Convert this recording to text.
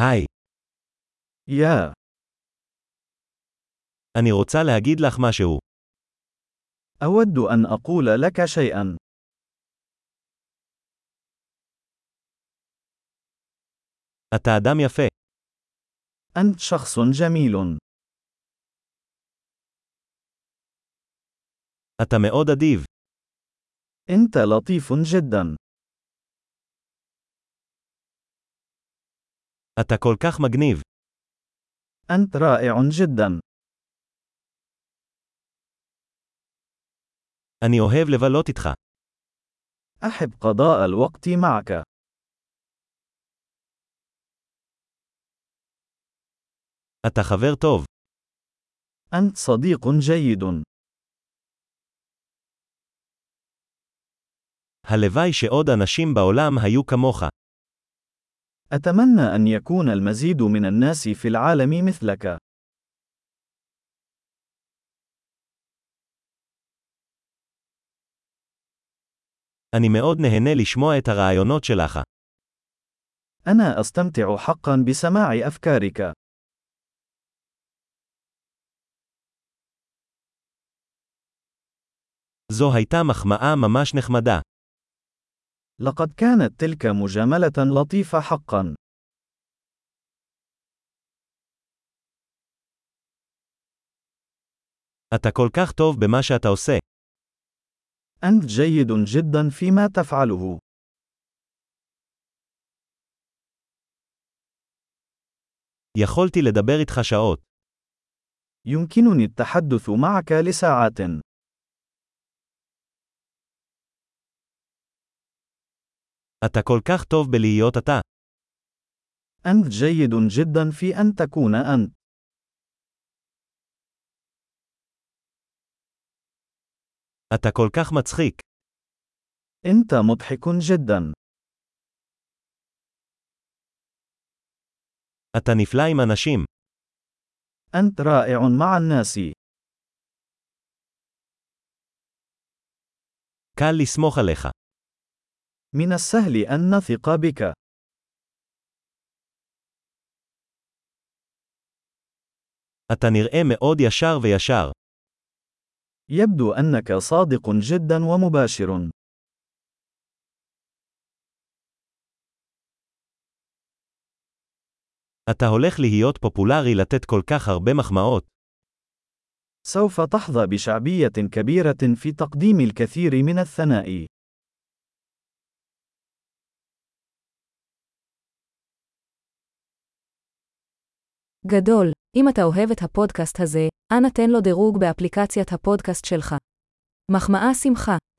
היי, يا אני רוצה להגיד לך משהו. أود أن أقول لك شيئا. אתה אדם יפה. أنت شخص جميل. אתה מאוד אדיב. أنت لطيف جدا. אתה כל כך מגניב. أنت رائع جدا. אני אוהב לבלות איתך. أحب قضاء الوقت معك. אתה חבר טוב. أنت صديق جيد. הלוואי שעוד אנשים בעולם היו כמוך. أتمنى أن يكون المزيد من الناس في العالم مثلك. אני מאוד נהנה לשמוע את הרעיונות שלך. أنا أستمتع حقا بسماع أفكارك. זו הייתה מחמאה ממש נחמדה. لقد كانت تلك مجاملة لطيفة حقا. אתה כל כך טוב במה שאתה עושה. أنت جيد جدا فيما تفعله. יכולתי לדבר איתך שעות. يمكنني التحدث معك لساعات. אתה כל כך טוב בלהיות אתה. أنت جيد جدا في أن تكون أنت. אתה כל כך מצחיק. أنت مضحك جدا. אתה נפלא עם אנשים. أنت رائع مع الناس. קל לסמוך עליך. من السهل أن نثق بك. אתה נראה מאוד ישר וישר. يبدو أنك صادق جدا ومباشر. אתה הולך להיות פופולרי לתת כל כך הרבה מחמאות. سوف تحظى بشعبية كبيرة في تقديم الكثير من الثناء. גדול, אם אתה אוהב את הפודקאסט הזה, אנא תן לו דירוג באפליקציית הפודקאסט שלך. מחמאה שמחה.